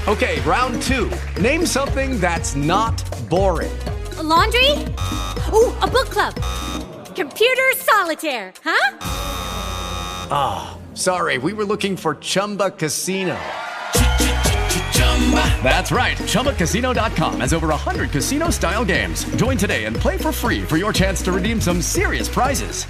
Okay, round 2. Name something that's not boring. A laundry? Ooh, a book club. Computer solitaire, huh? Ah, sorry, we were looking for Chumba Casino. That's right, ChumbaCasino.com has over 100 casino-style games. Join today and play for free for your chance to redeem some serious prizes.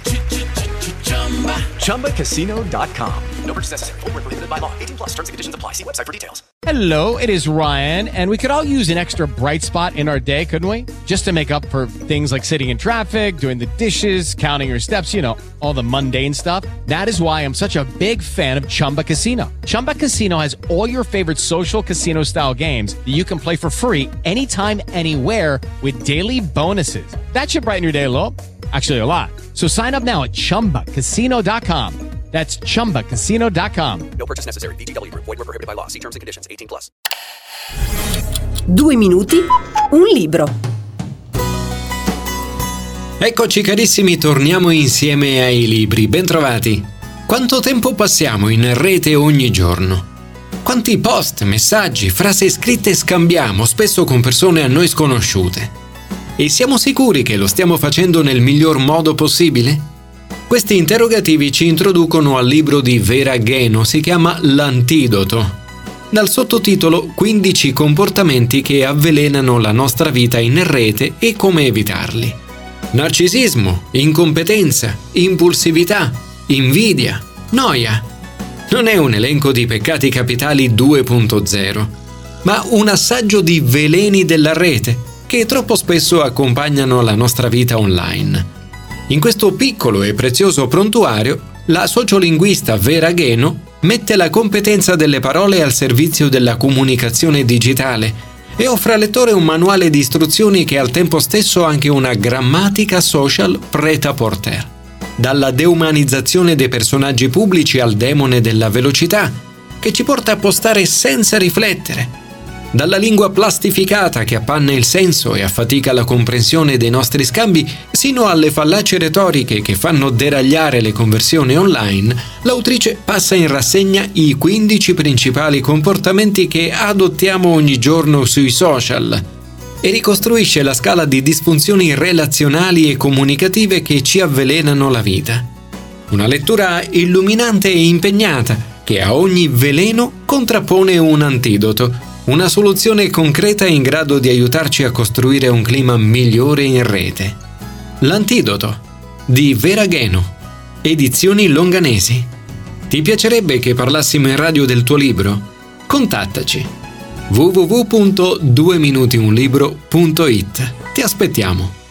ChumbaCasino.com. No purchase necessary. Void where prohibited by law. 18 plus. Terms and conditions apply. See website for details. Hello, it is Ryan, and we could all use an extra bright spot in our day, couldn't we? Just to make up for things like sitting in traffic, doing the dishes, counting your steps, you know, all the mundane stuff. That is why I'm such a big fan of Chumba Casino. Chumba Casino has all your favorite social casino-style games that you can play for free anytime, anywhere with daily bonuses. That should brighten your day a little. Actually, a lot. So sign up now at ChumbaCasino.com. That's ChumbaCasino.com. No purchase necessary. VGW Group. Void where prohibited by law. See terms and conditions. 18 plus. 2 minuti, un libro. Eccoci carissimi, torniamo insieme ai libri. Bentrovati. Quanto tempo passiamo in rete ogni giorno? Quanti post, messaggi, frasi scritte scambiamo, spesso con persone a noi sconosciute? E siamo sicuri che lo stiamo facendo nel miglior modo possibile? Questi interrogativi ci introducono al libro di Vera Geno, si chiama L'antidoto. Dal sottotitolo 15 comportamenti che avvelenano la nostra vita in rete e come evitarli. Narcisismo, incompetenza, impulsività, invidia, noia. Non è un elenco di peccati capitali 2.0, ma un assaggio di veleni della rete che troppo spesso accompagnano la nostra vita online. In questo piccolo e prezioso prontuario, la sociolinguista Vera Geno mette la competenza delle parole al servizio della comunicazione digitale e offre al lettore un manuale di istruzioni che al tempo stesso ha anche una grammatica social prêt-à-porter. Dalla deumanizzazione dei personaggi pubblici al demone della velocità, che ci porta a postare senza riflettere. Dalla lingua plastificata che appanna il senso e affatica la comprensione dei nostri scambi, sino alle fallaci retoriche che fanno deragliare le conversioni online, l'autrice passa in rassegna i 15 principali comportamenti che adottiamo ogni giorno sui social e ricostruisce la scala di disfunzioni relazionali e comunicative che ci avvelenano la vita. Una lettura illuminante e impegnata che a ogni veleno contrappone un antidoto. Una soluzione concreta in grado di aiutarci a costruire un clima migliore in rete. L'antidoto di Vera Geno, Edizioni Longanesi. Ti piacerebbe che parlassimo in radio del tuo libro? Contattaci. www.dueminutiunlibro.it. Ti aspettiamo.